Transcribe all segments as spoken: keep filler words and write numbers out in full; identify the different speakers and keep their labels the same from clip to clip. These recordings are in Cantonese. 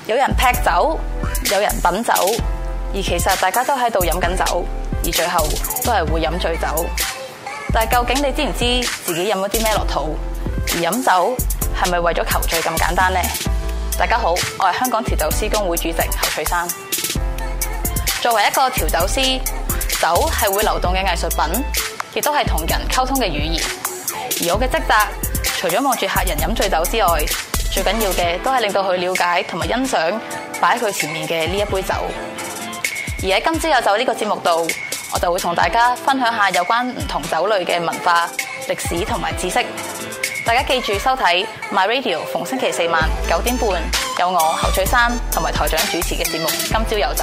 Speaker 1: 有人劈酒，有人品酒，而其實大家都喺度飲緊酒，而最後都係會飲醉酒。但係究竟你知唔知自己飲咗啲咩落肚？而飲酒係咪為咗求醉咁簡單呢？大家好，我係香港調酒師公會主席侯翠珊。作為一個調酒師，酒係會流動嘅藝術品，亦都係同人溝通嘅語言。而我嘅職責，除咗望住客人飲醉酒之外，最緊要嘅都係令到佢了解同埋欣賞擺喺佢前面嘅呢一杯酒。而喺今朝有酒呢個節目度，我就會同大家分享下有關唔同酒類嘅文化、歷史同埋知識。大家記住收睇 My Radio， 逢星期四晚九點半有我侯翠珊同埋台長主持嘅節目《今朝有酒》。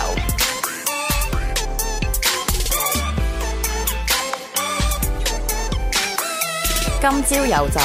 Speaker 1: 今朝有酒。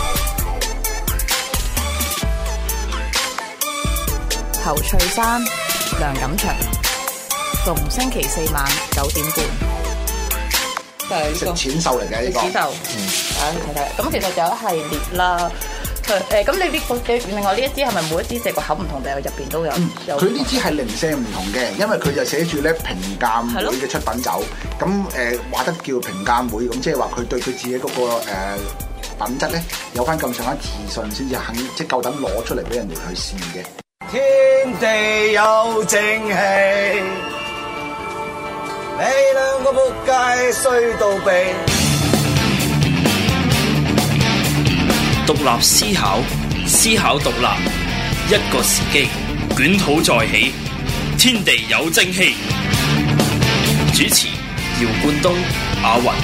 Speaker 1: 侯翠珊、梁錦祥，逢星期四晚九點半。
Speaker 2: 食淺秀嚟嘅呢個。
Speaker 1: 淺秀，嗯，大家睇睇。咁其實就有一系列啦。誒，咁你呢個嘅另外呢一支係咪每一支隻個口唔同定係入邊都有？
Speaker 2: 佢呢支係零舍唔同嘅，因為佢就寫住咧評鑑會嘅出品酒。咁誒話得叫評鑑會，咁即係話佢對佢自己嗰、那個、呃、品質咧有翻咁上下自信，先至肯即係夠膽攞出嚟俾人哋去試嘅。
Speaker 3: 天地有正氣，你兩個仆街衰到痹。
Speaker 4: 獨立思考，思考獨立，一個時機，捲土再起，天地有正氣。主持：姚冠東、阿雲。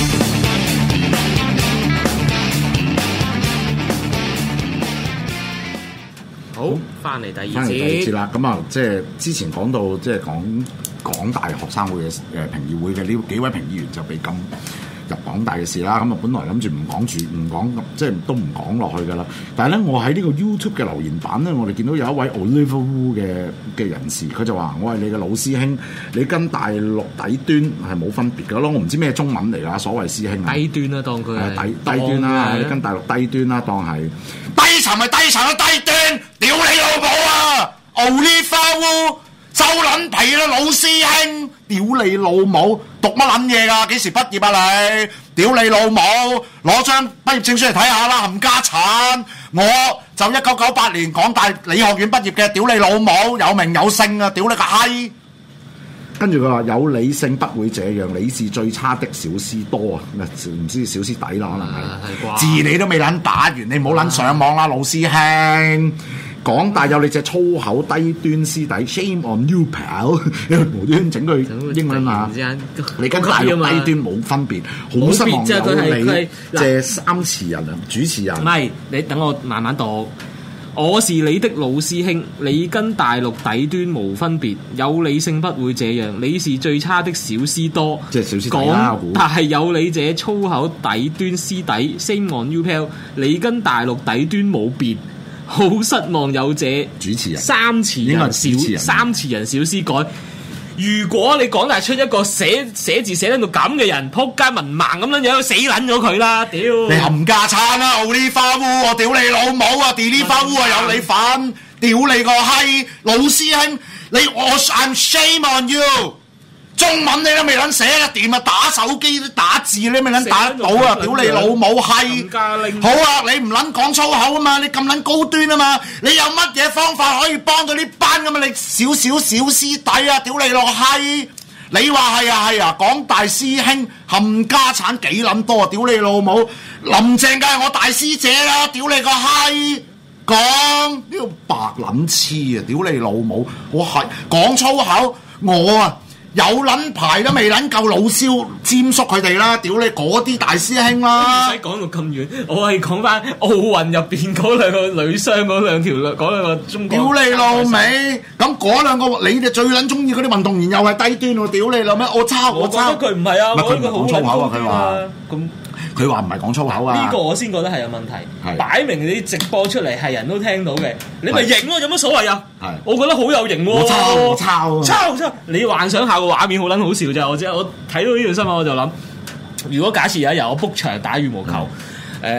Speaker 5: 好，翻嚟第二節。
Speaker 2: 翻嚟第二節啦，咁啊，即係之前講到，即係講港大學生會嘅誒評議會嘅呢幾位評議員就被禁入港大嘅事啦。咁啊，本來諗住唔講住，唔講即係都唔講落去噶啦。但係咧，我喺呢個 YouTube 嘅留言版咧，我哋見到有一位 Oliver Wu 嘅嘅人士，佢就話：我係你嘅老師兄，你跟大陸底端係冇分別㗎咯。我唔知咩中文嚟㗎，所謂師兄
Speaker 5: 低端啦，當佢係
Speaker 2: 低低端啦，你跟大陸低端啦，當係
Speaker 3: 低層係低層嘅低端，屌你老母啊！Oliver Wu 收撚皮啦，老師兄，
Speaker 2: 屌你老母！
Speaker 3: 讀乜撚嘢㗎？幾時畢業啊你？屌你老母！攞張畢業證書嚟睇下啦，冚家產！我就一九九八年港大理學院畢業嘅，屌你老母，有名有姓啊！屌你個閪！
Speaker 2: 跟住佢話有理性不會這樣，你是最差的小師多啊！唔知小師弟啦，可能係
Speaker 3: 字你都未撚打完，你唔好撚上網啦，老師兄！
Speaker 2: 港大有你隻粗口低端師弟 ，shame on you pal！無端整句英文啊！你跟大陸低端冇分別，好失望有你借三詞人啊，主持人。
Speaker 5: 唔係，你等我慢慢讀。我是你的老師兄，你跟大陸底端無分別，有理性不會這樣，你是最差的小師多。
Speaker 2: 即係小師弟啦，
Speaker 5: 講但係有你這粗口底端師弟 ，shame on you pal！你跟大陸底端冇別。好失望有這
Speaker 2: 主持人
Speaker 5: 三詞人小三詞人小師改。如果你講大出一個寫寫字寫到咁嘅人，撲街文盲咁樣樣，死撚咗佢啦！屌
Speaker 3: 你冚家鏟啦！Oliver Wu，我屌你老母啊 ！Oliver Wu 啊有你份，屌你個閪！老師兄，你我 I'm shame on you。中文你都未撚寫得掂啊！打手機打字你未撚打得到啊！屌你老母閪！好啊，你唔撚講粗口啊嘛！你咁撚高端啊嘛！你有乜嘢方法可以幫到呢班咁啊？你少少小師弟啊！屌你老閪！你話係啊係啊！港大師兄冚家產幾撚多啊！屌你老母！林鄭梗係我大師姐啦！屌你個閪！講
Speaker 2: 呢個白撚黐啊！屌你老母！我係講粗口，我啊！
Speaker 3: 有撚牌都未撚夠老蕭尖叔佢哋啦！屌你嗰啲大師兄啦！
Speaker 5: 唔使講到咁遠，我係講翻奧運入邊嗰兩個女雙嗰兩條嗰兩個中國。
Speaker 3: 屌你老味！咁嗰兩個你哋最撚中意嗰啲運動員又係低端喎！屌你老味！我抄我抄。
Speaker 5: 我覺得佢唔係啊，
Speaker 2: 佢唔係講粗口啊！佢話
Speaker 5: 咁。
Speaker 2: 佢話唔係講粗口啊！
Speaker 5: 呢個我先覺得係有問題，擺明你直播出嚟係人都聽到嘅，你咪認咯，有乜所謂啊？係，我覺得好有型喎！
Speaker 2: 我抄我抄
Speaker 5: 抄抄！你幻想下個畫面好撚好笑啫！我知我睇到呢條新聞我就諗，如果假設有一日我 book 場打羽毛球，誒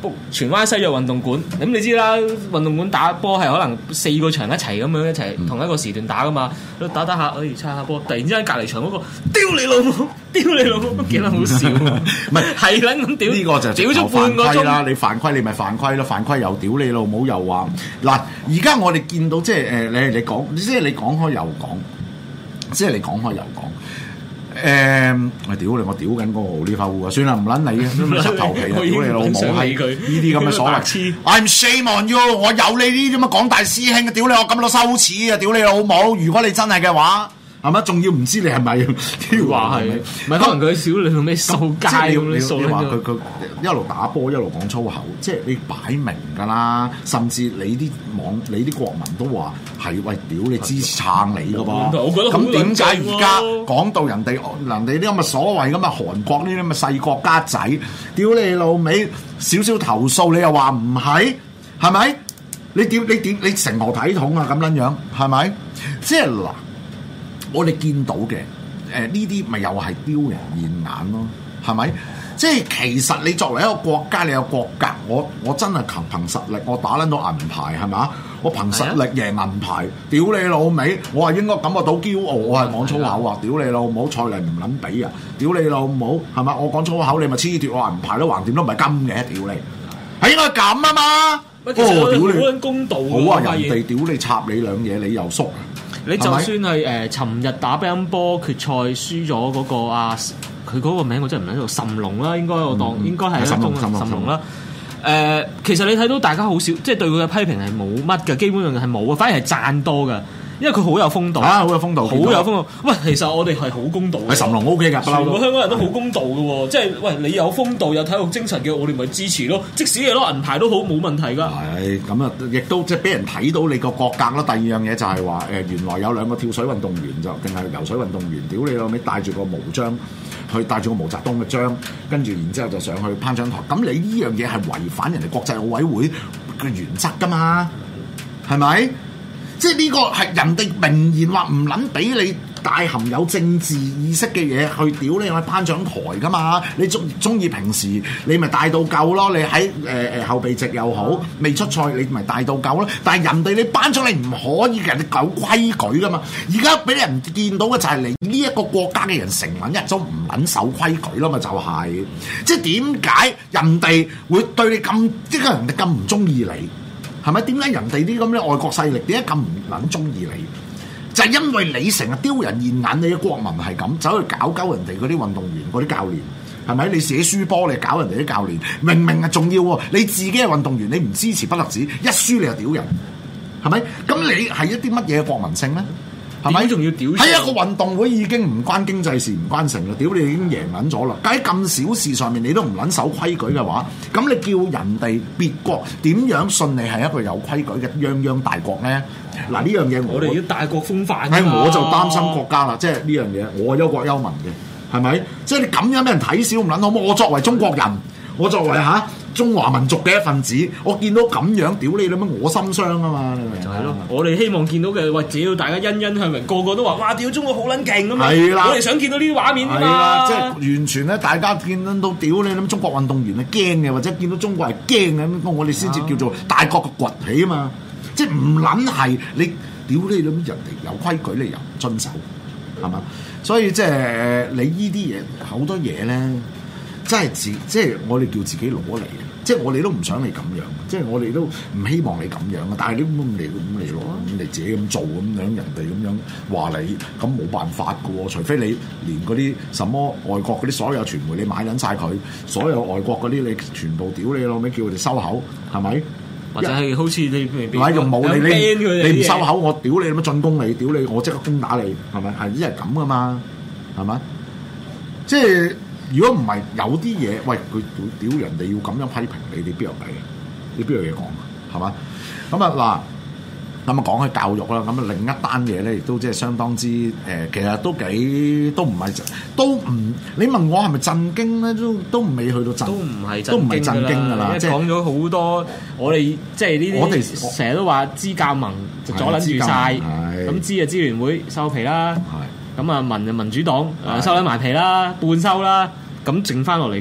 Speaker 5: 荃灣西約運動館，咁你知啦，運動館打波係可能四個場一齊咁樣一齊、嗯、同一個時段打噶嘛，打打下，哎，叉下波，突然之間隔離場嗰個屌你老母，屌你老母，幾得好笑，唔係係撚咁屌，
Speaker 2: 呢個就
Speaker 5: 屌咗半個鐘啦，
Speaker 2: 你犯規你咪犯規咯，犯規又屌你老母又話嗱，而家我哋見到即係誒你你講，即係你講開又講，即係你講開又講。誒、嗯，我屌你！我屌緊嗰個奧利弗烏啊！算啦，唔撚你嘅，柒頭皮啊！屌你老母閪！呢啲咁嘅所謂 ，I'm shame on you！我有你呢啲咁嘅廣大師兄，屌你我咁多羞恥啊！屌你老母！如果你真係嘅話，係咪？仲要唔知你係咪？
Speaker 5: 話係，唔係可能佢少你做咩掃街咁樣掃？
Speaker 2: 你話佢佢一路打波一路講粗口，即係你擺明㗎啦。甚至你啲網你啲國民都話係喂，屌你支持撐你㗎噃。咁點解而家講到人哋人哋啲咁嘅所謂咁嘅韓國呢啲咁嘅細國家仔，屌你老味少少投訴你又話唔係，係咪？你點你點你成何體統啊？咁撚樣係咪？即係嗱。我哋見到嘅誒呢啲咪又係丟人現眼咯，係咪？即係其實你作為一個國家，你有國格，我我真係憑憑實力，我打撚到銀牌係咪？我憑實力贏銀牌，屌你老味！我係應該感覺到驕傲，我係講粗口啊！屌你老母，賽例唔撚比啊！屌你老母係咪？我講粗口，你咪黐脫我銀牌都橫掂都唔係金嘅，屌你！係應該咁啊嘛！
Speaker 5: 哦，屌你！好公道
Speaker 2: 好啊！人哋屌你插你兩嘢，你又縮。
Speaker 5: 你就算係誒，尋、呃、日打乒乓波決賽輸咗嗰個啊，佢嗰個名我真係唔喺度，諶龍啦，應該我當、嗯、應該係一種諶龍啦。誒、呃，其實你睇到大家好少，即係對佢嘅批評係冇乜嘅，基本上係冇啊，反而係讚多嘅。因為佢好有風度
Speaker 2: 啊，好有風度，
Speaker 5: 好有風度。喂，其實我哋係好公道嘅，
Speaker 2: 係諶龍 O K 㗎，
Speaker 5: 全部香港人都好公道嘅喎。即係喂，你有風度有體育精神嘅，我哋咪支持咯。即使你攞銀牌都好，冇問題㗎。
Speaker 2: 係咁啊，亦都即係俾人睇到你個國格啦。第二樣嘢就係話誒，原來有兩個跳水運動員就定係游水運動員，屌你老味帶住個毛章，去帶住個毛澤東嘅章，跟住然之後就上去頒獎台。咁你呢樣嘢係違反人哋國際奧委會嘅原則㗎嘛？係咪？即係呢個係人哋明言話唔撚俾你帶含有政治意識嘅嘢去屌你去頒獎台㗎嘛？你中中意平時你咪帶到夠咯，你喺誒誒後備席又好，未出賽你咪帶到夠咯。但係人哋你頒獎你唔可以人哋有規矩㗎嘛？而家俾人見到嘅就係你呢一個國家嘅人成撚一種唔撚守規矩咯嘛，就係、是、即係點解人哋會對你咁即係人哋咁唔中意你？係咪？點解人哋啲咁嘅外國勢力點解咁唔撚中意你？就係、是、因為你成日丟人現眼，你嘅國民係咁走去搞鳩人哋嗰啲運動員、嗰啲教練，係咪？你寫輸波，你搞人哋啲教練，明明係重要喎。你自己係運動員，你唔支持不特止，一輸你就屌人，係咪？咁你係一啲乜嘢國民性咧？係咪
Speaker 5: 仲要屌？
Speaker 2: 喺一個運動會已經唔關經濟事，唔關成啦，屌你已經贏撚咗啦！喺咁小事上面你都唔撚守規矩嘅話，咁你叫人哋別國點樣信你係一個有規矩嘅泱泱大國咧？嗱，呢樣嘢
Speaker 5: 我哋要大國風範。
Speaker 2: 係我就擔心國家啦，即係呢樣嘢我憂國憂民嘅，係咪？即係你咁樣俾人睇小唔撚好冇？我作為中國人，我作為嚇、啊、中華民族嘅一份子，我見到咁樣屌你啦咩？我心傷啊嘛！
Speaker 5: 就係咯，我哋希望見到嘅，喂，只要大家欣欣向榮，個個都話哇，屌中國好撚勁啊嘛！
Speaker 2: 係啦，
Speaker 5: 我哋想見到呢啲畫面啊嘛！
Speaker 2: 係啦，即係完全咧，大家見到屌你咁中國運動員係驚嘅，或者見到中國係驚嘅咁，我哋先至叫做大國嘅崛起啊嘛！即係唔撚係你屌你咁人哋有規矩，你又唔遵守，係嘛？所以即係你呢啲嘢好多嘢咧。真係自即係我哋叫自己攞嚟嘅，即係我哋都唔想你咁樣，即係我哋都唔希望你咁樣啊！但係你咁嚟咁嚟攞，咁你自己咁做咁樣，人哋咁樣話你，咁冇辦法㗎喎。除非你連嗰啲什麼外國嗰啲所有傳媒你買撚晒佢，所有外國嗰啲你全部屌你老味，叫佢哋收口，係咪？
Speaker 5: 或者係好似你
Speaker 2: 唔係用武你你你唔收口，我屌你咁樣進攻你，屌你我即刻攻打你，係咪？係一係咁㗎嘛，係咪？即係。如果唔係有啲嘢，喂佢屌人哋要咁樣批評你，你邊有計？你邊有嘢講啊？係嘛？咁啊嗱，咁啊講起教育啦，咁啊另一單嘢咧，亦都即係相當之誒、呃，其實都幾都唔係都唔，你問我係咪震驚咧？都都未去到震，
Speaker 5: 都唔係
Speaker 2: 都唔係震驚㗎啦。
Speaker 5: 即係講咗好多，我哋即係呢啲，我哋成日都話支教盟就阻撚住晒，咁支啊支聯會收皮啦。咁啊民就民主黨誒收撚埋皮啦，半收啦，咁剩翻落嚟嘅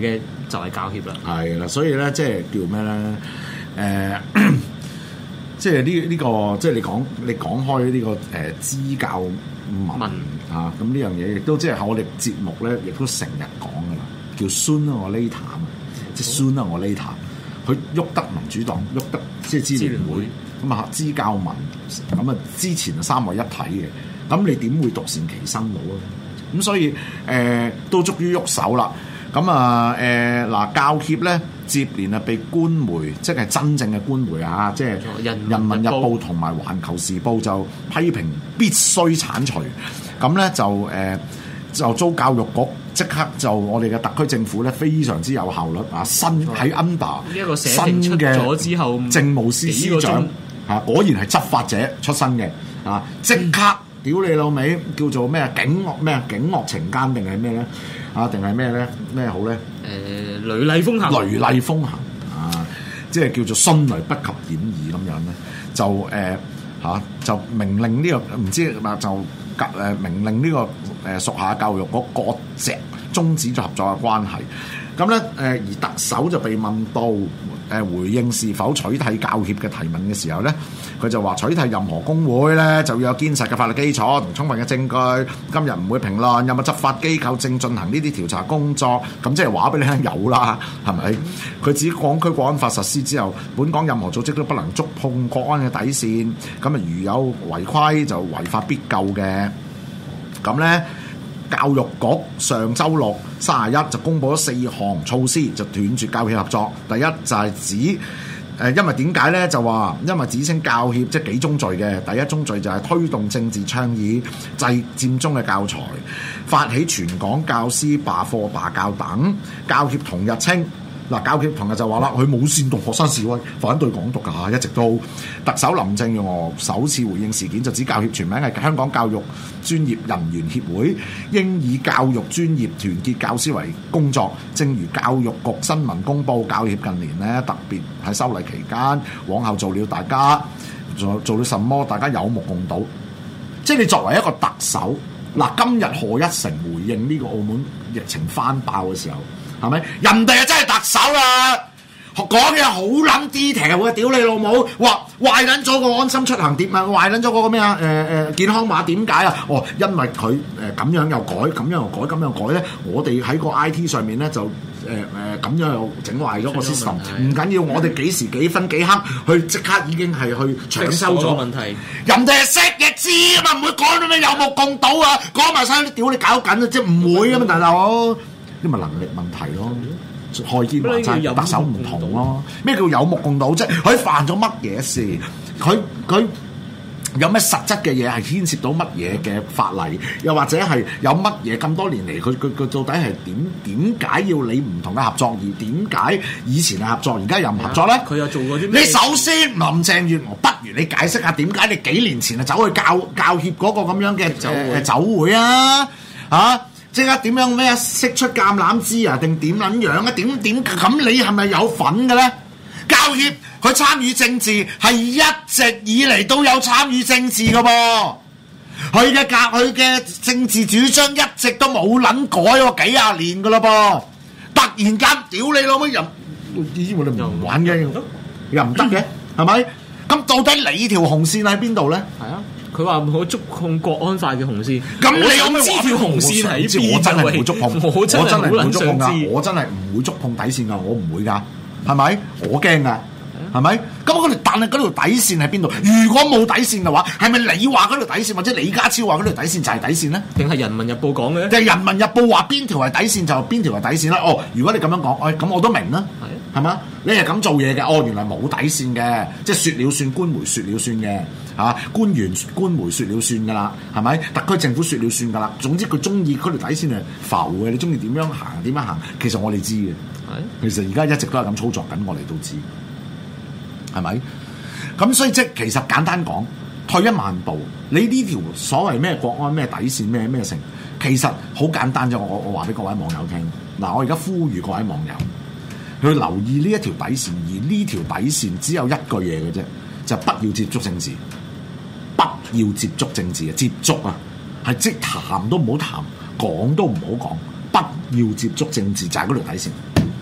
Speaker 5: 就係教協啦。
Speaker 2: 係啦，所以咧即係叫咩咧？誒、呃，即係呢呢個即係你講你講開呢、這個誒支、呃、教文啊，咁呢樣嘢亦都即係喺我哋節目咧，亦都成日講噶啦，叫 Sooner or Later 啊，即係 Sooner or Later，佢喐得民主黨，喐得即係支聯會。咁啊，支教民咁啊，之前啊三位一體嘅，咁你點會獨善其身到啊？咁所以誒、呃、都終於喐手啦。咁啊誒嗱，教協咧接連啊被官媒，即係真正嘅官媒啊，即係《人民日報》同埋《環球時報》就批評必須剷除。咁咧就誒、呃、就遭教育局即刻就我哋嘅特區政府咧非常之有效率啊，新喺 under
Speaker 5: 呢一個社評出咗之後，
Speaker 2: 政務司司長。啊！果然係執法者出身嘅啊！即刻屌你老味，叫做咩啊？警惡咩啊？警惡懲奸定係咩咧？啊？定係咩咧？咩好咧？誒、
Speaker 5: 呃，雷厲風行，
Speaker 2: 雷厲風行啊！即係叫做迅雷不及掩耳咁樣咧，就誒嚇、啊、就命令呢、這個唔知嘛就誒命令呢個誒屬下教育局割席終止咗合作嘅關係。咁咧誒而特首就被問到。誒回應是否取締教協嘅提問嘅時候咧，佢就話取締任何工會咧就要有堅實嘅法律基礎同充分嘅證據。今日唔會評論有冇執法機構正進行呢啲調查工作，咁即係話俾你聽有啦，係咪？佢指港區國安法實施之後，本港任何組織都不能觸碰國安嘅底線。咁啊，如有違規就違法必究嘅。咁咧。教育局上週六三十一就公布咗四項措施，就斷絕教協合作。第一就係指誒、呃，因為點解咧？就話因為指稱教協即係幾宗罪嘅。第一宗罪就係推動政治倡議、製佔中嘅教材、發起全港教師罷課罷教等。教協同日稱。嗱，教協同日就話啦，佢冇煽動學生示威，反對港獨㗎，一直都。特首林鄭月娥首次回應事件，就指教協全名係香港教育專業人員協會，應以教育專業團結教師為工作。正如教育局新聞公佈，教協近年咧特別喺修例期間，往後做了大家做做了什麼，大家有目共睹。即係你作為一個特首，嗱，今日賀一誠回應呢個澳門疫情翻爆嘅時候。係咪？人哋啊真係特首啦，講嘢好撚 detail 嘅，屌你老母！話壞撚咗個安心出行點啊？壞撚咗嗰個咩啊？誒、呃、誒健康碼點解啊？哦，因為佢誒咁樣又改，咁樣又改，咁樣又改咧。我哋喺個 I T 上面咧就誒誒咁樣又整壞咗個 system。唔緊要，我哋幾時幾分幾刻去即刻已經係去搶修咗問題。人哋係識嘅知啊嘛，唔會講到咩有目共睹啊，講埋晒啲屌你搞緊啊，即係唔會啊嘛，大佬。呢咪能力問題咯，害見話齋特首唔同咯。咩叫有目共睹啫？佢犯咗乜嘢事？佢佢有咩實質嘅嘢係牽涉到乜嘢嘅法例？又或者係有乜嘢咁多年嚟，佢佢佢到底係點點解要你唔同嘅合作？而點解以前係合作，而家又唔合作咧？佢又做過啲咩？你首先林鄭月娥，不如你解釋下點解你幾年前啊走去教教協嗰個咁樣嘅酒會酒會啊？啊！即刻點樣咩啊？釋出橄欖枝啊？定點撚樣啊？點點咁你係咪有份嘅咧？教協佢參與政治係一直以嚟都有參與政治嘅噃，佢嘅教佢嘅政治主張一直都冇撚改喎，幾廿年嘅咯噃，突然間屌你老母又以前我哋唔玩嘅，又唔得嘅，係咪？咁到底你條紅線喺邊度咧？係啊。佢話唔好觸碰國安法嘅紅線，咁你有咩知條紅線喺邊？我真係唔會觸碰，我真係唔會觸碰㗎，我真係唔會觸碰底線㗎，我唔會㗎，係咪？我驚㗎，係咪？咁嗰條但係嗰條底線喺邊度？如果冇底線嘅話，係咪你話嗰條底線，或者李家超話嗰條底線就係底線咧？定係《人民日報》講嘅？定係《人民日報》話邊條係底線就邊條係底線啦？哦，如果你咁樣講，哎，咁我都明啦，係嘛？你係咁做嘢嘅，哦，原來冇底線嘅，即係説了算，官媒説了算嘅。啊！官員官媒説了算㗎啦，係咪？特區政府説了算㗎啦。總之佢中意嗰條底線係浮嘅，你中意點樣行點樣行，其實我哋知嘅。其實而家一直都係咁操作緊，我哋都知，係咪？咁所以即係其實簡單講，退一萬步，你呢條所謂咩國安咩底線咩咩成，其實好簡單啫。我我話俾各位網友聽，嗱，我而家呼籲各位網友去留意呢一條底線，而呢條底線只有一句嘢嘅啫，就係不要接觸政治。不要接觸政治啊！接觸啊，係即談都唔好談，講都唔好講。不要接觸政治就係嗰條底線。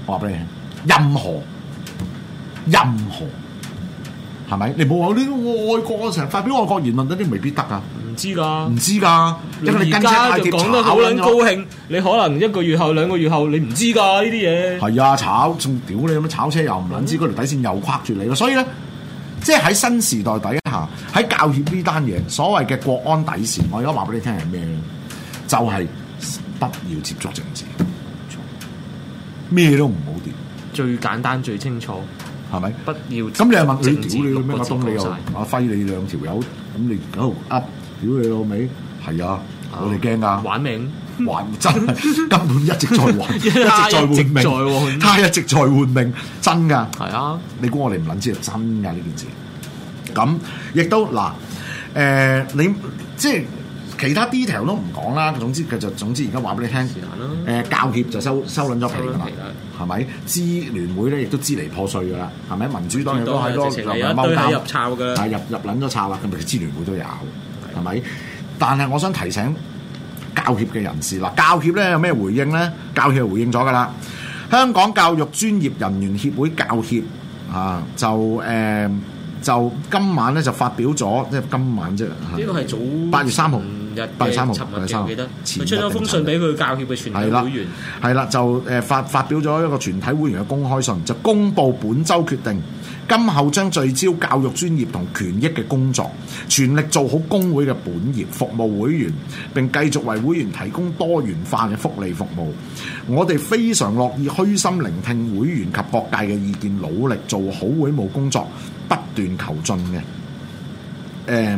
Speaker 2: 我話俾你聽，任何任何係咪？你冇話啲愛國成日發表愛國言論嗰啲未必得啊！
Speaker 5: 唔知㗎，
Speaker 2: 唔知㗎，因為你跟車太貼
Speaker 5: 講得好撚高興，你可能一個月後兩個月後你唔知㗎呢啲嘢。係
Speaker 2: 啊，炒仲屌你咁樣炒車又唔撚知嗰條底線又框住你咯，所以咧，即係喺新時代底下，喺教協呢單嘢，所謂嘅國安底線，我而家話俾你聽係咩咧？就係、是、不要接觸政治，咩都唔好掂，
Speaker 5: 最簡單最清楚。
Speaker 2: 係咪？
Speaker 5: 不要
Speaker 2: 咁你又問你屌你咩？阿東你又阿輝你兩條友，咁你喺度噏屌你老味？係啊，我哋驚㗎，
Speaker 5: 玩命
Speaker 2: 玩真係根本一直在玩，一直在換命，他一直在換命，真㗎。係啊，你估我哋唔撚知係真㗎呢件事？咁亦都嗱，誒、呃、你即係。其他 detail 都唔講啦，總之佢就總之而家話俾你聽，誒、呃、教協就收收撚咗皮㗎啦，係咪？支聯會咧亦都支離破碎㗎啦，係咪？民主黨亦都喺多入踎
Speaker 5: 入抄㗎，
Speaker 2: 係入入撚咗抄啦，咁咪支聯會都有，係咪？但係我想提醒教協嘅人士嗱，教協咧有咩回應咧？教協係回應咗㗎啦，香港教育專業人員協會教協啊，就誒。呃就今晚咧就發表咗，即係今晚啫。
Speaker 5: 呢個係早
Speaker 2: 八月三號，八月三號，
Speaker 5: 八月三號，我記得佢出咗封信俾佢教協嘅全體會員。
Speaker 2: 係啦，就誒發發表咗一個全體會員嘅公開信，就公布本週決定，今後將聚焦教育專業同權益嘅工作，全力做好工會嘅本業，服務會員，並繼續為會員提供多元化嘅福利服務。我哋非常樂意虛心聆聽會員及各界嘅意見，努力做好會務工作。不斷求進嘅，誒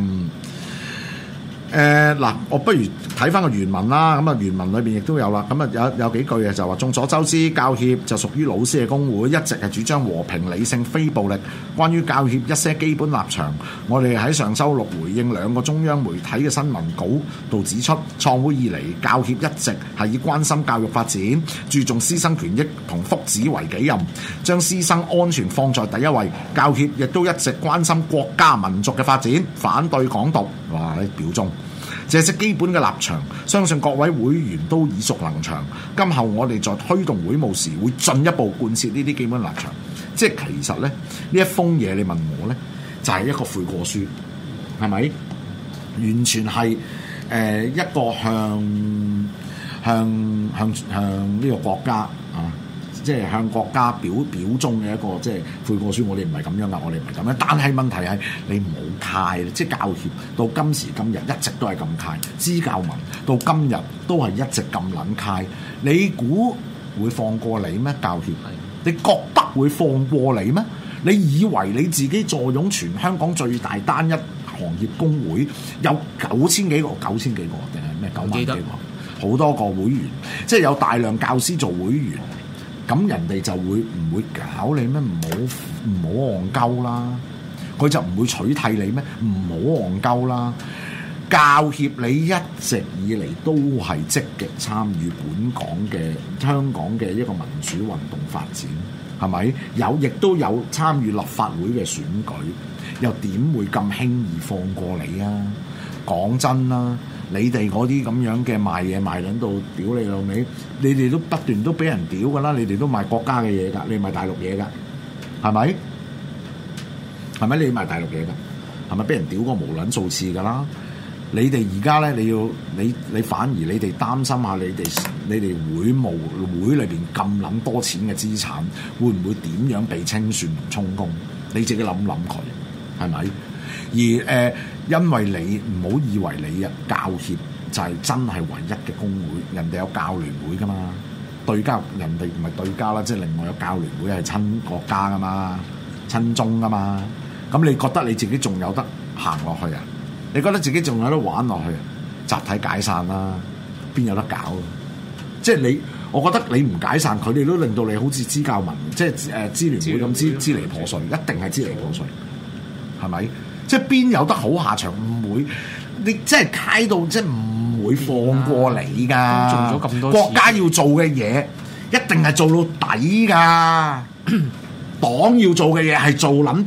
Speaker 2: 誒嗱，我不如睇翻個原文啦。咁啊，原文裏邊亦都有啦。咁啊，有有幾句嘅就話，眾所周知，教協就屬於老師嘅工會，一直係主張和平、理性、非暴力。關於教協一些基本立場，我哋喺上週六回應兩個中央媒體嘅新聞稿度指出，創會以嚟，教協一直係以關心教育發展、注重師生權益同福祉為己任，將師生安全放在第一位。教協亦都一直關心國家民族嘅發展，反對港獨。哇！你表忠。這些基本嘅立場，相信各位會員都耳熟能詳。今後我哋在推動會務時，會進一步貫徹呢啲基本立場。即係其實咧，呢一封嘢你問我咧，就係、是、一個悔過書，係咪？完全係誒、呃、一個向向向向呢個國家啊！即係向國家表表忠嘅一個即係悔過書，我哋唔係咁樣噶，我哋唔係咁樣。但係問題係你唔好介，即係教協到今時今日一直都係咁介，支教民到今日都係一直咁撚介。你估會放過你咩？教協，你覺得會放過你咩？你以為你自己坐擁全香港最大單一行業工會有九千幾個、九千幾個定係咩九萬幾個？好多個會員，即係有大量教師做會員。咁人哋就會唔會搞你咩？唔好唔好戇鳩啦！佢就唔會取締你咩？唔好戇鳩啦！教協你一直以嚟都係積極參與本港嘅香港嘅一個民主運動發展，係咪？有亦都有參與立法會嘅選舉，又點會咁輕易放過你啊？講真啦！你哋嗰啲咁樣嘅賣嘢賣撚到屌你老味，你哋都不斷都俾人屌噶啦，你哋都賣國家嘅嘢㗎，你賣大陸嘢㗎，係咪？係咪你賣大陸嘢㗎？係咪俾人屌過無撚數次㗎啦？你哋而家咧，你要你你反而你哋擔心下你哋你哋會務會裏邊咁撚多錢嘅資產，會唔會點樣被清算同充公？你自己諗諗佢，係咪？而誒、呃，因為你唔好以為你啊教協就係真係唯一嘅工會，人哋有教聯會噶嘛，對家人哋唔係對家啦，即係另外有教聯會係親國家噶嘛，親中噶嘛，咁你覺得你自己仲有得行落去啊？你覺得自己仲有得玩落去啊？集體解散啦，邊有得搞？即係你，我覺得你唔解散，佢哋都令到你好似支教民，即係誒支聯會咁支支離破碎，一定係支離破碎，係咪？即係邊有得好下場？唔會，你即係揩到，即係唔會放過你㗎。做咗咁多國家要做嘅嘢，一定係做到底㗎。黨要做嘅嘢係做撚到底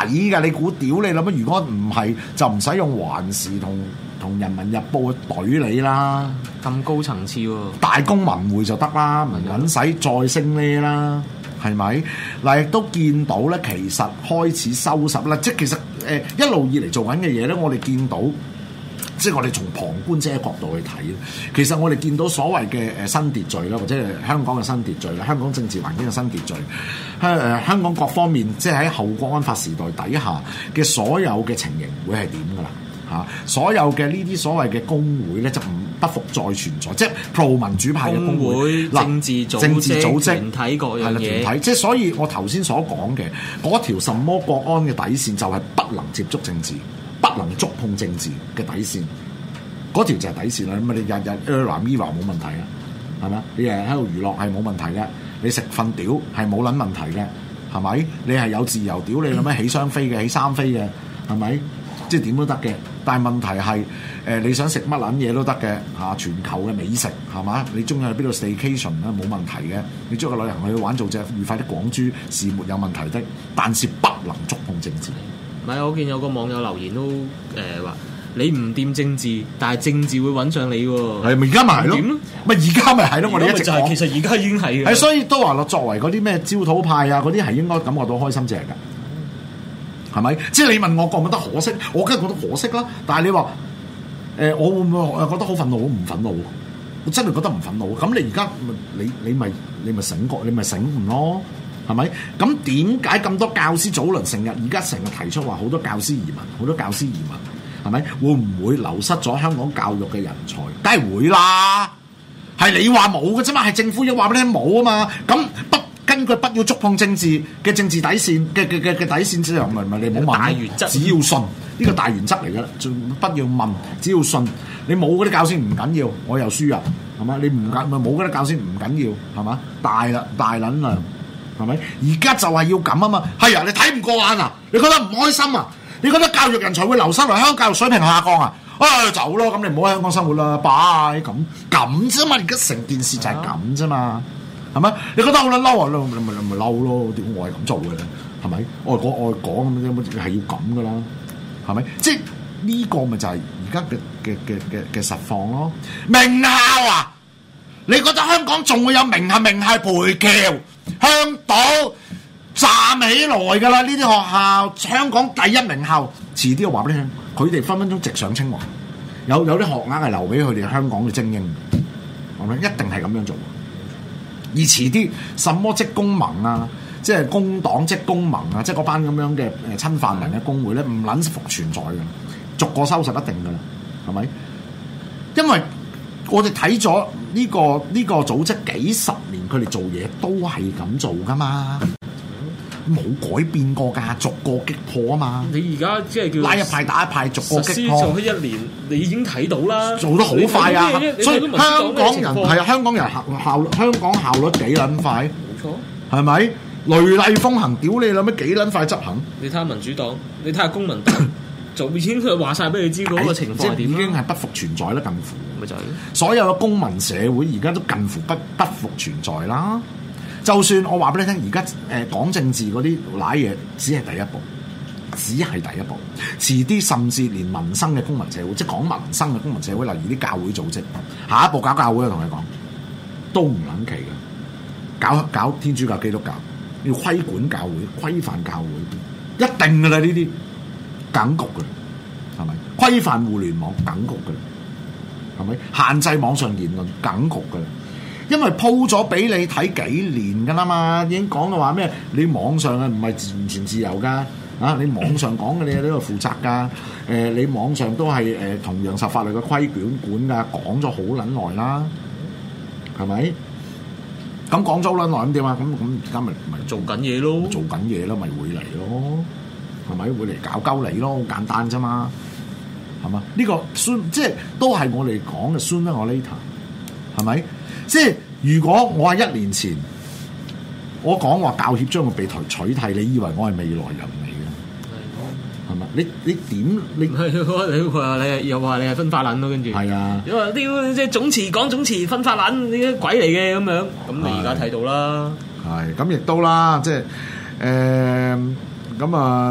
Speaker 2: 㗎，你估屌你諗乜？如果唔係，就唔使用環時同同人民日報去懟你啦。
Speaker 5: 咁高層次喎，
Speaker 2: 大公文匯就得啦，唔撚使再升呢啦，係咪？嗱，亦都見到咧，其實開始收拾啦，即係其實誒、呃、一路以嚟做緊嘅嘢咧，我哋見到。即係我哋從旁觀者嘅角度去睇，其實我哋見到所謂嘅誒新秩序啦，或者係香港嘅新秩序啦，香港政治環境嘅新秩序，香誒香港各方面，即係喺後國安法時代底下嘅所有嘅情形會係點㗎啦？嚇，所有嘅呢啲所謂嘅工會咧，就唔不復再存在，即係 pro 民主派嘅工會、
Speaker 5: 政治組織、
Speaker 2: 政治組織
Speaker 5: 團體各樣嘢，
Speaker 2: 團體，即係所以我頭先所講嘅嗰條什麼國安嘅底線，就係不能接觸政治。不能觸碰政治嘅底線，嗰條就係底線啦。咁你日日 Error Mirror 冇問題啊，係咪？你日日喺度娛樂係冇問題嘅，你食瞓屌係冇撚問題嘅，係咪？你係有自由屌，你諗咩起雙飛嘅，起三飛嘅，係咪？即係點都得嘅。但係問題係誒、呃，你想食乜撚嘢都得嘅嚇，全球嘅美食係嘛？你中意去邊度 staycation 咧冇問題嘅，你中意個旅行去玩做隻愉快的廣珠是沒有問題的，但是不能觸碰政治。
Speaker 5: 唔係，我見有個網友留言都誒話、呃、你唔掂政治，但係政治會揾上你喎。
Speaker 2: 係咪而家咪係咯？咪而家咪係咯？我哋一直講，
Speaker 5: 其實而家已經係嘅。
Speaker 2: 係所以都話咯，作為嗰啲咩焦土派啊，嗰啲係應該感覺到開心正㗎，係咪？即係你問我覺唔覺得可惜？我梗係覺得可惜啦。但係你話誒、呃，我會唔會誒覺得好憤怒？我唔憤怒，我真係覺得唔憤怒。咁你而家你你咪你咪醒覺，你咪醒悟咯。係咪？咁點解咁多教師早輪成日而家成日提出話好多教師移民，好多教師移民，係咪？會唔會流失咗香港教育嘅人才？梗係會啦。係你話冇嘅啫嘛，係政府要話俾你聽冇啊嘛。咁不根據不要觸碰政治嘅政治底線嘅嘅嘅嘅底線之後，咪咪你冇問
Speaker 5: 大原則，
Speaker 2: 只要信呢、呢個大原則嚟㗎啦。不要問，只要信。你冇嗰啲教師唔緊要，我又輸入係嘛？你唔緊咪冇嗰啲教師唔緊要係嘛？大啦大撚啦。係咪？而家就係要咁啊嘛！係啊，你睇唔過眼啊？你覺得唔開心啊？你覺得教育人才會流失嚟，香港教育水平下降啊？啊，走咯！咁你唔好喺香港生活啦，拜咁咁啫嘛！而家成件事就係咁啫嘛，係咪？你覺得好撚嬲啊？你咪你咪嬲咯！點解我係咁做嘅咧？係咪？我係講我係講咁樣，係要咁噶啦，係咪？即係呢個咪就係而家嘅嘅嘅嘅嘅實況咯。名校啊！你覺得香港仲會有名校名校培僑？香島站起來㗎啦！呢啲學校，香港第一名校，遲啲我話俾你聽，佢哋分分鐘直上清華，有有啲學額係留俾佢哋香港嘅精英，係咪？一定係咁樣做。而遲啲，什麼職工盟啊，即係工黨職工盟啊，即係嗰班咁樣嘅誒親泛民嘅工會咧，唔撚復存在嘅，逐個收拾一定㗎啦，係咪？因為我哋睇咗呢個呢、呢個組織幾十年，佢哋做嘢都係咁做噶嘛，冇改變過㗎，逐個擊破啊嘛。
Speaker 5: 你而家即係叫
Speaker 2: 拉一派打一派，逐個擊破。
Speaker 5: 做咗一年，你已經睇到啦，
Speaker 2: 做得好快啊！所以香港人係啊，香港人效效香港效率幾撚快？
Speaker 5: 冇錯，
Speaker 2: 係咪？雷厲風行，屌你諗咩幾撚快執行？
Speaker 5: 你睇下民主黨，你睇下公民黨。就已經佢話晒俾你知嗰個情況係點，已經係
Speaker 2: 不復存在啦，近乎
Speaker 5: 咪就係
Speaker 2: 所有嘅公民社會而家都近乎不不復存在啦。就算我話俾你聽，而家誒講政治嗰啲賴嘢，只係第一步，只係第一步。遲啲甚至連民生嘅公民社會，即係講民生嘅公民社會，例如啲教會組織，下一步搞教會，我同你講都唔撚奇嘅。搞搞天主教、基督教，要規管教會、規範教會，一定㗎啦呢啲。梗局嘅，係咪？規範互聯網梗局嘅，係咪？限制網上言論梗局嘅，因為鋪咗俾你睇幾年㗎啦嘛，已經講到話咩？你網上啊唔係完全自由㗎，啊你網上講嘅你都要負責㗎，誒、呃、你網上都係誒、呃、同樣受法律嘅規管管㗎，講咗好撚耐啦，係咪？咁講咗好撚耐咁點啊？咁咁而家咪咪
Speaker 5: 做緊嘢咯，
Speaker 2: 做緊嘢咯，咪會嚟咯。係咪會嚟搞鳩你咯？好簡單啫嘛，係嘛？呢、這個 soon 即係都係我哋講嘅 sooner or later，係咪？即係如果我係一年前，我講話教協將會被取替，你以為我係未來人嚟嘅？係咪？你你點你？
Speaker 5: 你話你又話你係分化撚咯，跟住
Speaker 2: 係啊！
Speaker 5: 你話啲即係總辭講總辭分化撚，你啲鬼嚟嘅咁樣，咁你而家睇到啦。
Speaker 2: 係咁亦都啦，即係誒咁啊！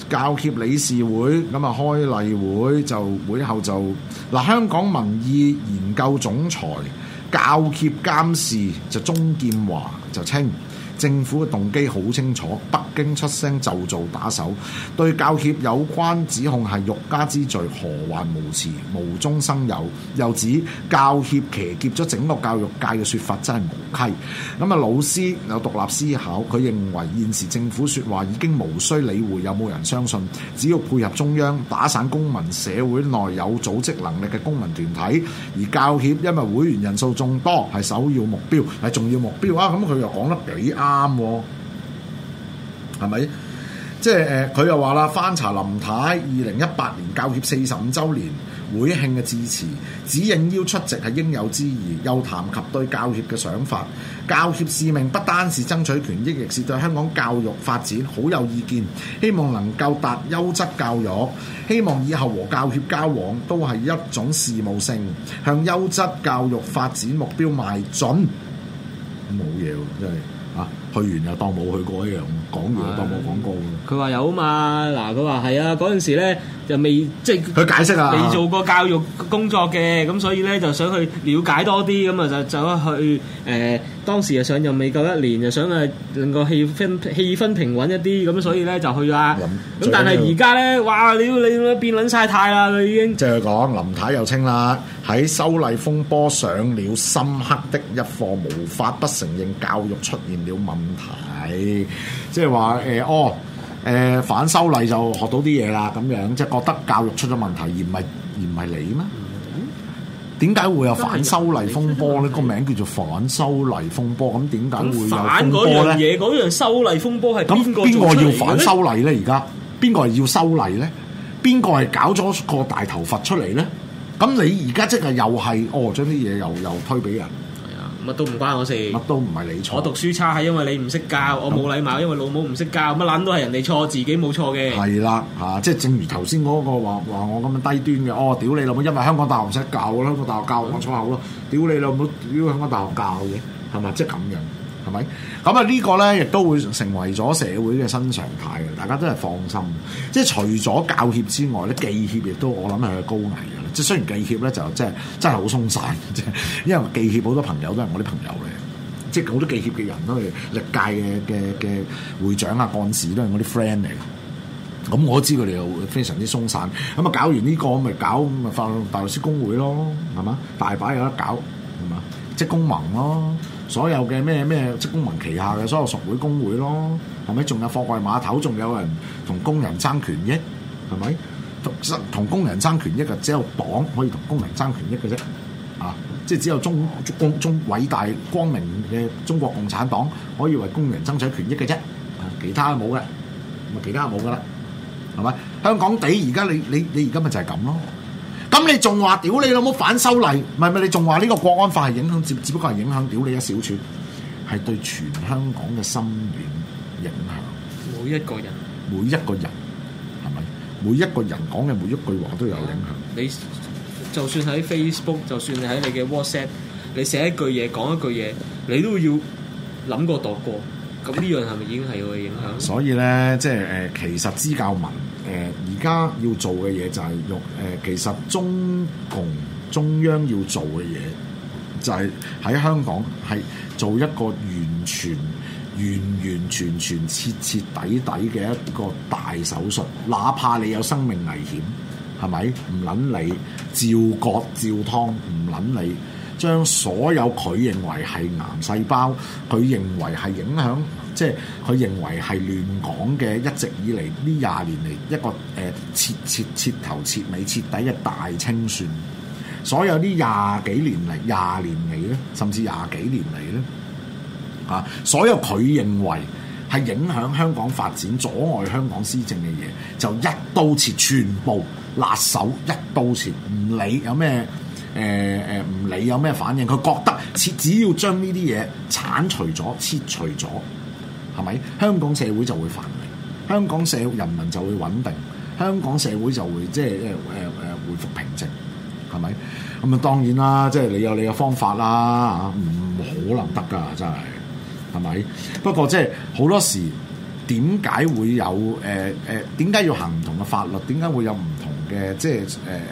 Speaker 2: 教協理事會咁啊開例會就會後就嗱，香港民意研究總裁教協監事就鍾劍華就稱，政府嘅動機好清楚，北京出聲就做打手，對教協有關指控係欲加之罪，何患無辭，無中生有。又指教協騎劫咗整個教育界嘅說法真係無稽。咁啊，老師有獨立思考，佢認為現時政府說話已經無需理會有冇人相信，只要配合中央打散公民社會內有組織能力嘅公民團體，而教協因為會員人數眾多係首要目標，係重要目標啊！咁佢又講得幾啱喎，係咪？即係誒，佢、呃、又話啦，翻查林太二零一八年教協四十五週年會慶嘅致辭，只應邀出席係應有之義，又談及對教協嘅想法。教協使命不單是爭取權益，亦是對香港教育發展好有意見，希望能夠達優質教育，希望以後和教協交往都係一種事務性，向優質教育發展目標邁進。冇嘢喎，真係。啊！去完又當冇去過一樣，講完又當冇講過。
Speaker 5: 佢話有啊嘛，嗱佢話係啊，嗰陣時咧就未即係
Speaker 2: 佢解釋啊，
Speaker 5: 未做過教育工作嘅，咁所以咧就想去了解多啲，咁啊就走去誒、呃、當時啊上任未夠一年，就想誒令個氣氛氣氛平穩一啲，咁所以咧就去啊。咁但係而家咧，哇！你你變撚晒態啦，佢已經。即係
Speaker 2: 講林太又稱啦，喺修例風波上了深刻的一課，無法不承認教育出現了問題，即係話誒哦誒、呃、反修例就學到啲嘢啦，咁樣即係覺得教育出咗問題，而唔係而唔係你咩？點解會有反修例風波咧？個名叫做反修例風波，咁點解會有風波咧？
Speaker 5: 反嗰樣嘢，嗰樣修例風波係
Speaker 2: 咁邊個要反修例咧？而家邊個係要修例咧？邊個係搞咗個大頭佛出嚟咧？咁你而家即係又係哦，將啲嘢又又推俾人。
Speaker 5: 乜都唔關我事，
Speaker 2: 乜都唔係你錯。
Speaker 5: 我讀書差係因為你唔識教，我冇禮貌因為老母唔識教，乜撚都係人哋錯，自己冇錯嘅。
Speaker 2: 係啦，嚇、啊，即係正如頭先嗰個話話我咁樣低端嘅，哦，屌你老母，因為香港大學唔識教，香港大學教我粗口咯，屌你老母，屌香港大學教嘅，係咪？即係咁樣，係咪？咁啊呢個咧亦都會成為咗社會嘅新常態嘅，大家都係放心。即係除咗教協之外咧，記協亦都我諗係高危嘅。即係雖然記協咧就真係真係好鬆散，即係因為記協好多朋友都係我啲朋友嚟，即係好多記協嘅人都係歷屆嘅嘅嘅會長啊幹事都係我啲 friend 嚟。咁我知佢哋又非常之鬆散。咁啊搞完呢個咪搞咪法大律師公會咯，係嘛？大把有得搞，係嘛？職工盟咯，所有嘅咩咩職工盟旗下嘅所有屬會工會咯，係咪？仲有貨櫃碼頭，仲有人同工人爭權益，係咪？同工人爭權益嘅只有黨可以同工人爭權益嘅啫，啊！即係只有中中中偉大光明嘅中國共產黨可以為工人爭取權益嘅啫，啊！其他冇嘅，咪其他冇噶啦，係咪？香港地而家你你你而家咪就係咁咯，咁你仲話屌你老母反修例，唔係咪？你仲話呢個國安法係影響，只只不過係影響屌你一小撮，係對全香港嘅深遠影響，
Speaker 5: 每一個人，
Speaker 2: 每一個人。每一個人講嘅每一句話都有影響。
Speaker 5: 你就算喺 Facebook， 就算你喺你嘅 WhatsApp， 你寫一句嘢講一句嘢，你都要諗過度過。咁呢樣係咪已經係有影響？
Speaker 2: 所以咧，即係誒、呃，其實支教民誒而家要做嘅嘢就係用誒，其實中共中央要做嘅嘢就係喺香港係做一個完全。完完全全徹徹底底嘅一個大手術，哪怕你有生命危險，係咪？唔撚你照割照劏，唔撚你將所有佢認為係癌細胞，佢認為係影響，即係佢認為係亂講嘅，一直以嚟呢廿年嚟一個誒徹徹徹頭徹尾徹底嘅大清算，所有呢廿幾年嚟廿年嚟咧，甚至廿幾年嚟咧。啊！所有佢認為係影響香港發展、阻礙香港施政嘅嘢，就一刀切，全部辣手一刀切，唔理有咩誒誒，唔理有咩反應，佢覺得切只要將呢啲嘢剷除咗、切除咗，係咪香港社會就會繁榮，香港社人民就會穩定，香港社會就會即係誒誒誒恢復平靜，係咪？咁啊當然啦，即係你有你嘅方法啦，嚇唔可能得㗎，真係。係咪？不過即係好多時點解會有誒誒點解要行唔同嘅法律？點解會有唔同嘅即係誒誒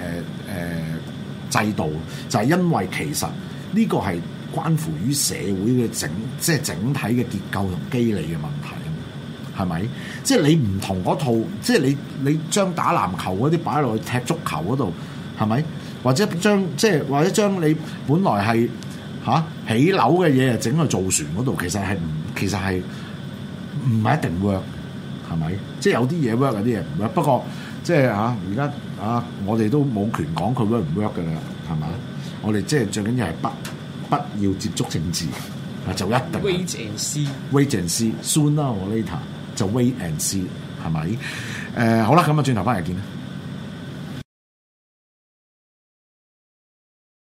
Speaker 2: 誒制度？就係、是、因為其實呢個係關乎於社會嘅整即係整體嘅結構同機理嘅問題。係咪？即係你唔同嗰套，即係你你將打籃球嗰啲擺落去踢足球嗰度，係咪？或者將即係或者將你本來係嚇、啊、起樓嘅嘢啊整去造船嗰度，其實係唔其實係唔係一定 work，係咪？即係有啲嘢 work， 有啲嘢唔 work。不過即係嚇而家啊，我哋都冇權講佢 work 唔 work 㗎啦，係咪？我哋即係最緊要係不不要接觸政治啊，就一定。
Speaker 5: Wait and see，Wait
Speaker 2: and see，sooner or later。就 wait and see 係咪？誒、呃、好啦，咁啊轉頭翻嚟見啦。